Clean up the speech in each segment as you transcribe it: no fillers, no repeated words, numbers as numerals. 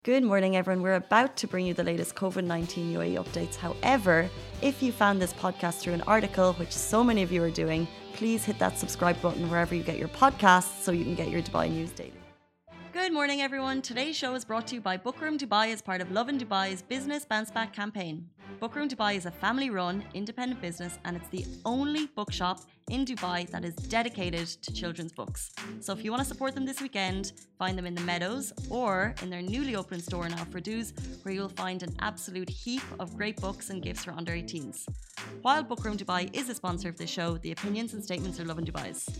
Good morning, everyone. We're about to bring you the latest COVID-19 UAE updates. However, if you found this podcast through an article, which so many of you are doing, please hit that subscribe button wherever you get your podcasts so you can get your Dubai news daily. Good morning, everyone. Today's show is brought to you by Bookroom Dubai as part of Lovin Dubai's Business Bounce Back campaign. Bookroom Dubai is a family-run, independent business, and it's the only bookshop in Dubai that is dedicated to children's books. So if you want to support them this weekend, find them in the Meadows or in their newly opened store now for Fardouz, where you'll find an absolute heap of great books and gifts for under 18s. While Bookroom Dubai is a sponsor of this show, the opinions and statements are Lovin Dubai's.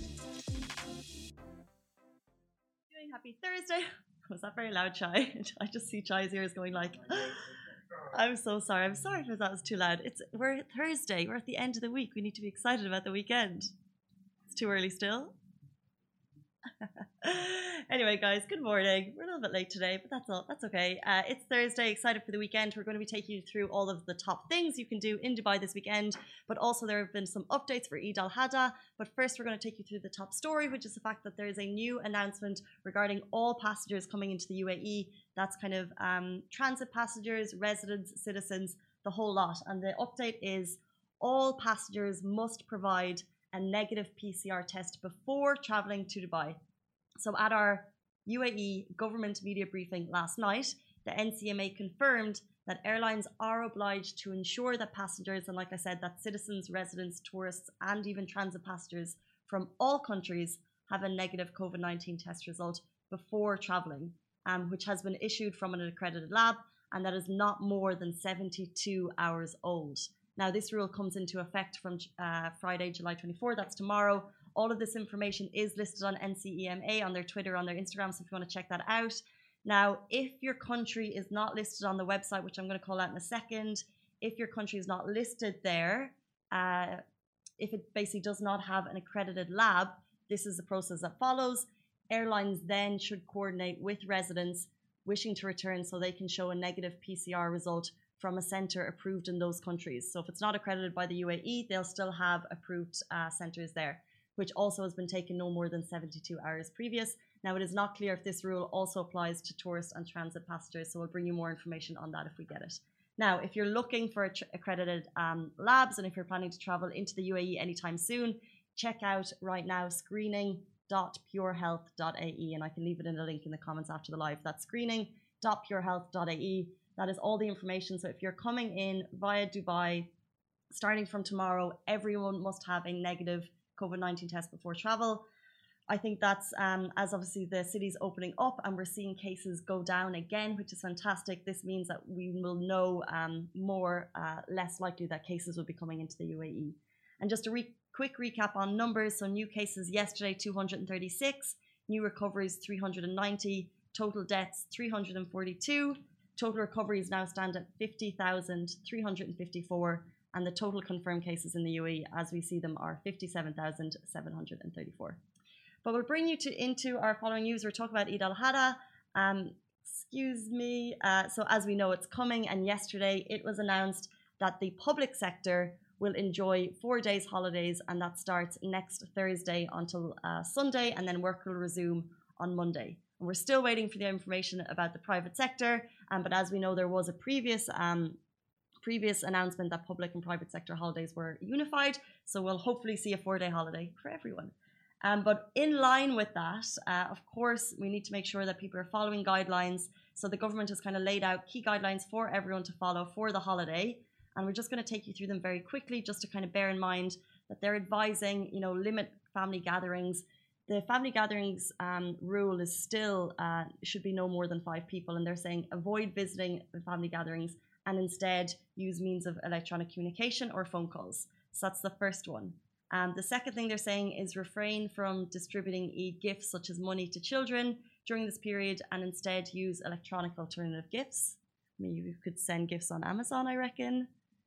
Happy Thursday. Was that very loud, Chai? I just see Chai's ears going like, I'm so sorry. I'm sorry if that was too loud. We're Thursday. We're at the end of the week. We need to be excited about the weekend. It's too early still. Anyway, guys, good morning. We're a little bit late today, but that's all. That's okay. It's Thursday. Excited for the weekend. We're going to be taking you through all of the top things you can do in Dubai this weekend, but also there have been some updates for Eid al-Adha. But first, we're going to take you through the top story, which is the fact that there is a new announcement regarding all passengers coming into the UAE. That's kind of transit passengers, residents, citizens, the whole lot. And the update is all passengers must provide a negative PCR test before traveling to Dubai. So at our UAE government media briefing last night, the NCMA confirmed that airlines are obliged to ensure that passengers, and like I said, that citizens, residents, tourists, and even transit passengers from all countries have a negative COVID-19 test result before traveling, which has been issued from an accredited lab, and that is not more than 72 hours old. Now, this rule comes into effect from Friday, July 24. That's tomorrow. All of this information is listed on NCEMA, on their Twitter, on their Instagram, so if you want to check that out. Now, if your country is not listed on the website, which I'm going to call out in a second, if your country is not listed there, if it basically does not have an accredited lab, this is the process that follows. Airlines then should coordinate with residents wishing to return so they can show a negative PCR result from a centre approved in those countries. So if it's not accredited by the UAE, they'll still have approved centres there, which also has been taken no more than 72 hours previous. Now, it is not clear if this rule also applies to tourist and transit passengers, so we'll bring you more information on that if we get it. Now, if you're looking for accredited labs and if you're planning to travel into the UAE anytime soon, check out right now screening.purehealth.ae, and I can leave it in the link in the comments after the live. That's screening.purehealth.ae. That is all the information. So if you're coming in via Dubai, starting from tomorrow, everyone must have a negative COVID-19 test before travel. I think that's as obviously the city's opening up and we're seeing cases go down again, which is fantastic. This means that we will know less likely that cases will be coming into the UAE. And just a quick recap on numbers. So new cases yesterday, 236, new recoveries, 390, total deaths, 342. Total recoveries now stand at 50,354, and the total confirmed cases in the UAE, as we see them, are 57,734. But we'll bring you into our following news. We're talking about Eid al-Adha. So as we know, it's coming, and yesterday it was announced that the public sector will enjoy 4 days holidays, and that starts next Thursday until Sunday, and then work will resume on Monday. And we're still waiting for the information about the private sector, but as we know, there was a previous announcement that public and private sector holidays were unified, so we'll hopefully see a 4-day holiday for everyone. But in line with that, of course, we need to make sure that people are following guidelines. So the government has kind of laid out key guidelines for everyone to follow for the holiday, and we're just going to take you through them very quickly, just to kind of bear in mind that they're advising, limit family gatherings. The family gatherings rule is still should be no more than 5 people, and they're saying avoid visiting the family gatherings and instead use means of electronic communication or phone calls. So that's the first one. The second thing they're saying is refrain from distributing gifts such as money to children during this period and instead use electronic alternative gifts. Maybe we could send gifts on Amazon, I reckon.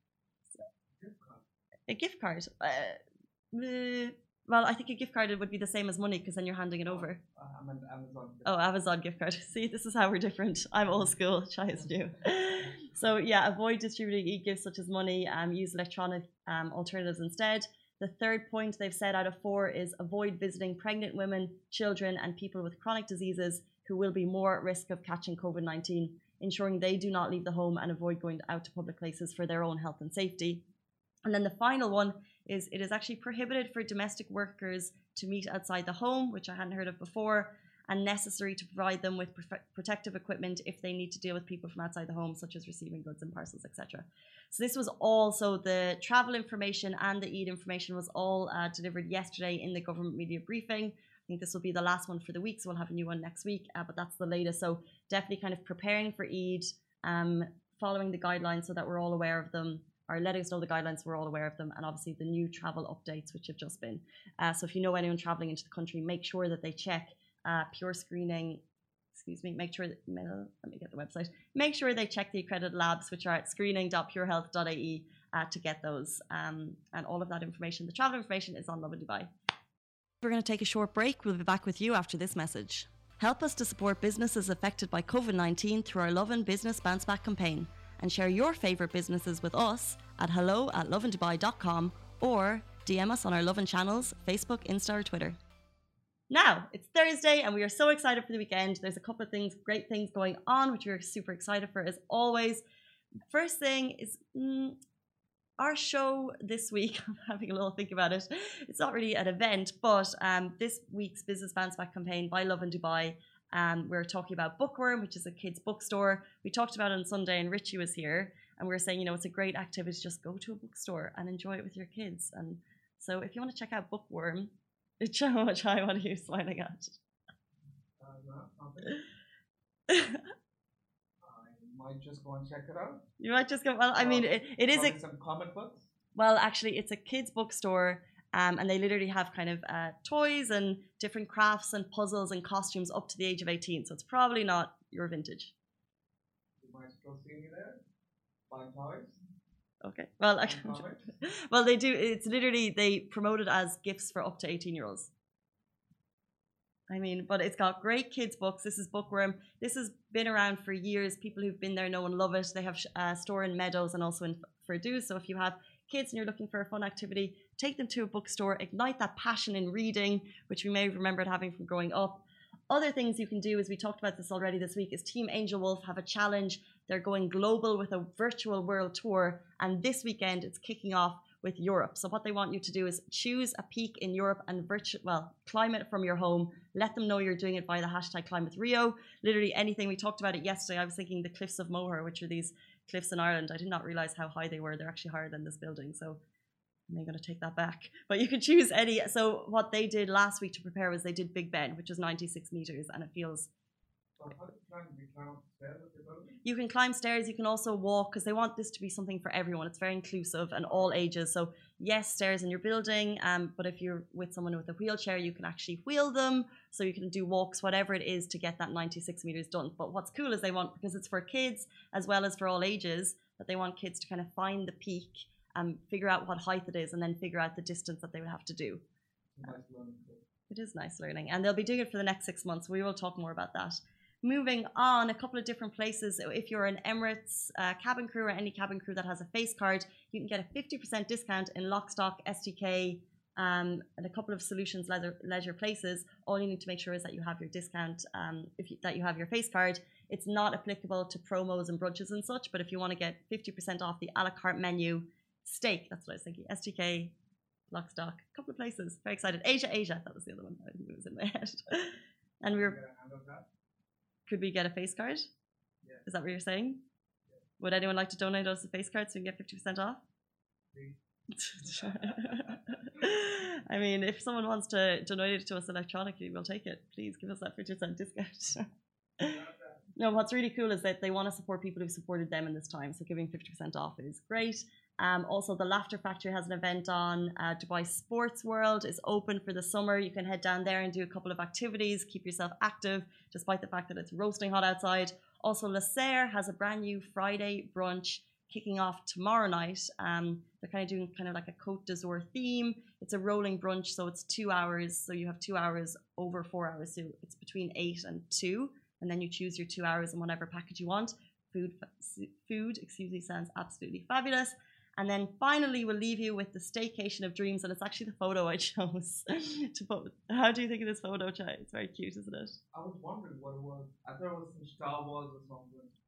A gift card. Well, I think a gift card would be the same as money because then you're handing it over. I'm an Amazon. Oh, Amazon gift card. See, this is how we're different. I'm old school. Chai is new. So yeah, avoid distributing e-gifts such as money. Use electronic alternatives instead. The third point they've said out of 4 is avoid visiting pregnant women, children, and people with chronic diseases who will be more at risk of catching COVID-19. ensuring they do not leave the home and avoid going out to public places for their own health and safety. And then the final one is it is actually prohibited for domestic workers to meet outside the home, which I hadn't heard of before, and necessary to provide them with protective equipment if they need to deal with people from outside the home, such as receiving goods and parcels, etc. So this was also the travel information and the Eid information was all delivered yesterday in the government media briefing. I think this will be the last one for the week, so we'll have a new one next week, but that's the latest. So definitely kind of preparing for Eid, following the guidelines so that we're all aware of them, or letting us know the guidelines, we're all aware of them, and obviously the new travel updates which have just been. So if you know anyone traveling into the country, make sure that they check Pure Screening. Make sure that, let me get the website. Make sure they check the accredited labs, which are at screening.purehealth.ie, to get those. And all of that information, the travel information, is on Lovin Dubai. We're going to take a short break. We'll be back with you after this message. Help us to support businesses affected by COVID-19 through our Lovin Business Bounce Back campaign, and share your favourite businesses with us at hello@lovindubai.com or DM us on our Lovin channels, Facebook, Insta or Twitter. Now, it's Thursday and we are so excited for the weekend. There's a couple of things, great things going on, which we're super excited for as always. First thing is our show this week. I'm having a little think about it. It's not really an event, but this week's Business Bounce Back campaign by Lovin Dubai, we're talking about Bookworm, which is a kids bookstore. We talked about it on Sunday and Richie was here and we were saying, you know, it's a great activity to just go to a bookstore and enjoy it with your kids. And so if you want to check out Bookworm, how much I want you smiling at. I might just go and check it out. You might just go, well, I mean, it is some comic books. Well, actually, it's a kids bookstore, and they literally have kind of toys and different crafts and puzzles and costumes up to the age of 18. So it's probably not your vintage. You might still see me there, buying toys. Okay. Well, they do. It's literally, they promote it as gifts for up to 18-year-olds. I mean, but it's got great kids books. This is Bookworm. This has been around for years. People who've been there know and love it. They have a store in Meadows and also in Ferdows. So if you have kids and you're looking for a fun activity, take them to a bookstore, ignite that passion in reading, which we may have remembered having from growing up. Other things you can do, as we talked about this already this week, is Team Angel Wolf have a challenge. They're going global with a virtual world tour, and this weekend it's kicking off with Europe. So what they want you to do is choose a peak in Europe and climb it from your home. Let them know you're doing it by the hashtag #ClimateRio. Literally anything. We talked about it yesterday. I was thinking the Cliffs of Moher, which are these cliffs in Ireland. I did not realize how high they were. They're actually higher than this building. So I'm going to take that back. But you can choose any. So what they did last week to prepare was they did Big Ben, which is 96 meters, and it feels. So how do you climb? Do you climb up the stairs of the building? You can climb stairs. You can also walk, because they want this to be something for everyone. It's very inclusive and all ages. So yes, stairs in your building. But if you're with someone with a wheelchair, you can actually wheel them. So you can do walks, whatever it is, to get that 96 meters done. But what's cool is they want, because it's for kids as well as for all ages, that they want kids to kind of find the peak and figure out what height it is, and then figure out the distance that they would have to do. Nice learning. It is nice learning, and they'll be doing it for the next 6 months. We will talk more about that. Moving on, a couple of different places. If you're an Emirates cabin crew or any cabin crew that has a face card, you can get a 50% discount in Lockstock, STK, and a couple of Solutions leisure places. All you need to make sure is that you have your discount, that you have your face card. It's not applicable to promos and brunches and such, but if you want to get 50% off the a la carte menu, steak, that's what I was thinking. STK, Lockstock, a couple of places. Very excited. Asia, that was the other one. I think it was in my head. And we were. Could we get a face card? Yeah. Is that what you're saying? Yeah. Would anyone like to donate us a face card so we can get 50% off? Please. I mean, if someone wants to donate it to us electronically, we'll take it. Please give us that 50% discount. No, what's really cool is that they want to support people who've supported them in this time. So giving 50% off is great. Also, the Laughter Factory has an event on. Dubai Sports World is open for the summer. You can head down there and do a couple of activities, keep yourself active, despite the fact that it's roasting hot outside. Also, Le Serre has a brand new Friday brunch kicking off tomorrow night. They're kind of doing kind of like a Côte d'Azur theme. It's a rolling brunch, so it's 2 hours. So you have 2 hours over 4 hours. So it's between 8 and 2. And then you choose your 2 hours in whatever package you want. Food, sounds absolutely fabulous. And then finally, we'll leave you with the staycation of dreams. And it's actually the photo I chose to put. How do you think of this photo, Chai? It's very cute, isn't it? I was wondering what it was. I thought it was some Star Wars or something.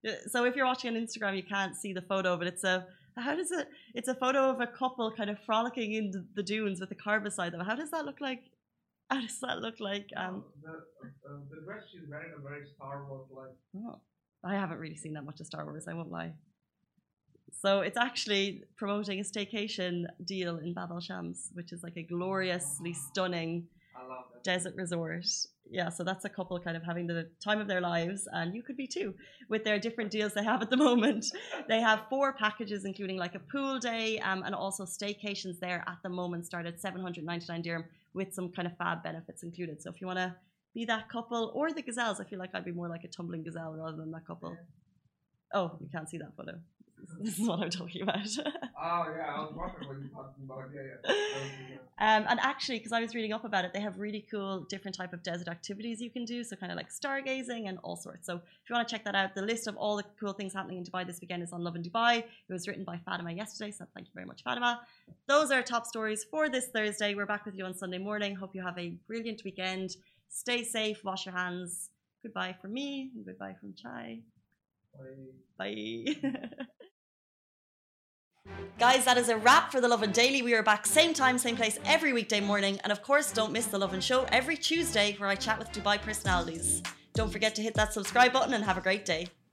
So if you're watching on Instagram, you can't see the photo, but it's a photo of a couple kind of frolicking in the dunes with a car beside them. How does that look like? How does that look like? The dress she's wearing is very Star Wars like. Oh, I haven't really seen that much of Star Wars, I won't lie. So it's actually promoting a staycation deal in Bab el Shams, which is like a gloriously stunning desert resort. Yeah, so that's a couple kind of having the time of their lives, and you could be too, with their different deals they have at the moment. They have 4 packages, including like a pool day, and also staycations there at the moment start at 799 dirham with some kind of fab benefits included. So if you want to be that couple, or the gazelles, I feel like I'd be more like a tumbling gazelle rather than that couple. Oh, you can't see that photo. This is what I'm talking about. Oh yeah, I was wondering what you're talking about. Yeah. And actually, because I was reading up about it, they have really cool different type of desert activities you can do. So kind of like stargazing and all sorts. So if you want to check that out, the list of all the cool things happening in Dubai this weekend is on Love in Dubai. It was written by Fatima yesterday, so thank you very much, Fatima. Those are top stories for this Thursday. We're back with you on Sunday morning. Hope you have a brilliant weekend. Stay safe, wash your hands. Goodbye from me, and goodbye from Chai. Bye. Guys, that is a wrap for The Lovin Daily. We are back same time, same place every weekday morning. And of course, don't miss The Lovin Show every Tuesday where I chat with Dubai personalities. Don't forget to hit that subscribe button and have a great day.